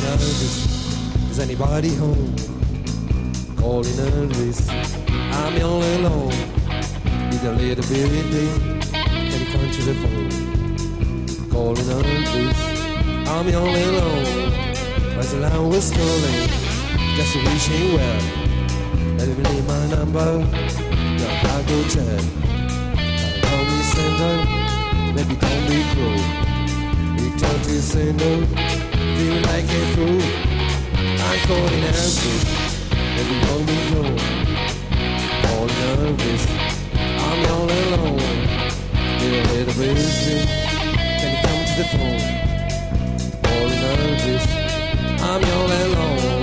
Elvis. Is anybody home? Calling Elvis. I'm all alone. Need a little bit. Can you come to the phone? Calling Elvis. I'm all alone. As the line was calling, just wishing well. Let me leave my number. Now I go check. Call me sender. Maybe don't be cruel. Return to sender. Feel like a fool. I'm calling Elvis. Maybe don't be cruel. Calling Elvis. I'm all alone. Feel a little bit busy. Can you come to the phone? Calling Elvis. I'm all alone.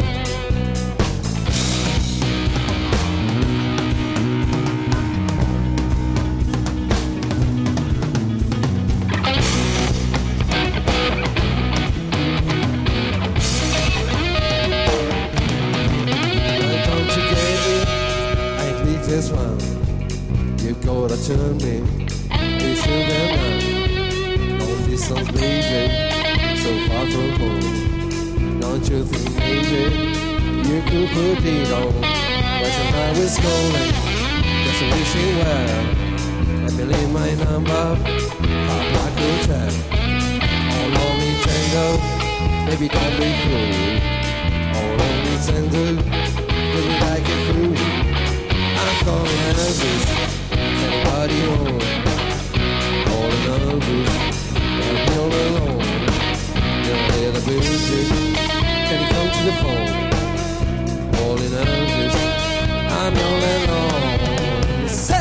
This one, you gotta turn me. It's a man, long distance baby, so far from home. Don't you think maybe you could put it on? But your mind is calling, just wishing well. Let me leave my number, I'll like your chat. All on me tango, baby don't be cruel. All on me tango, baby like it through. I'm calling Elvis, anybody home? Calling Elvis, I'm all alone. You're a little busy, can you come to the phone? Calling Elvis, I'm all alone. Say!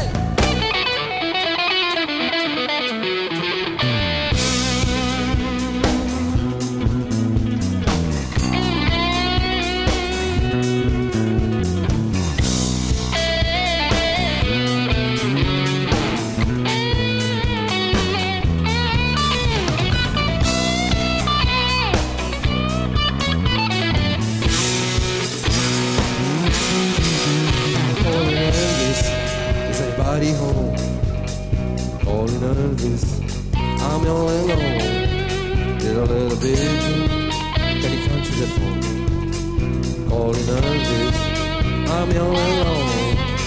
Home, calling Elvis. I'm all alone. Did a little bit. Can you come to the phone? Calling Elvis. I'm all alone.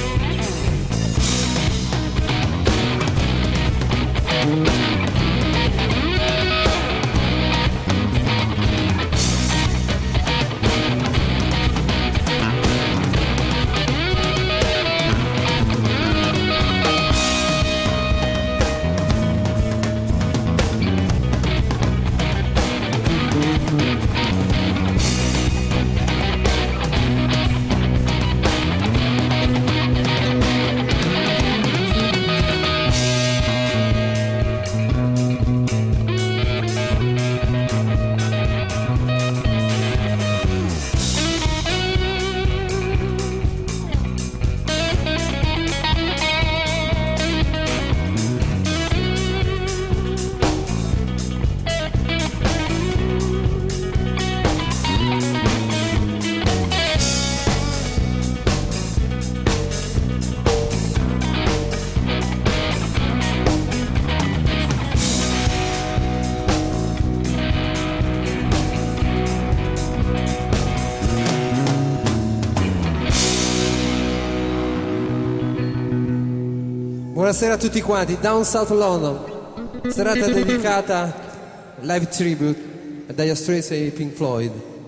Buonasera a tutti quanti, Down South London, serata dedicata live tribute a Dire Straits e Pink Floyd.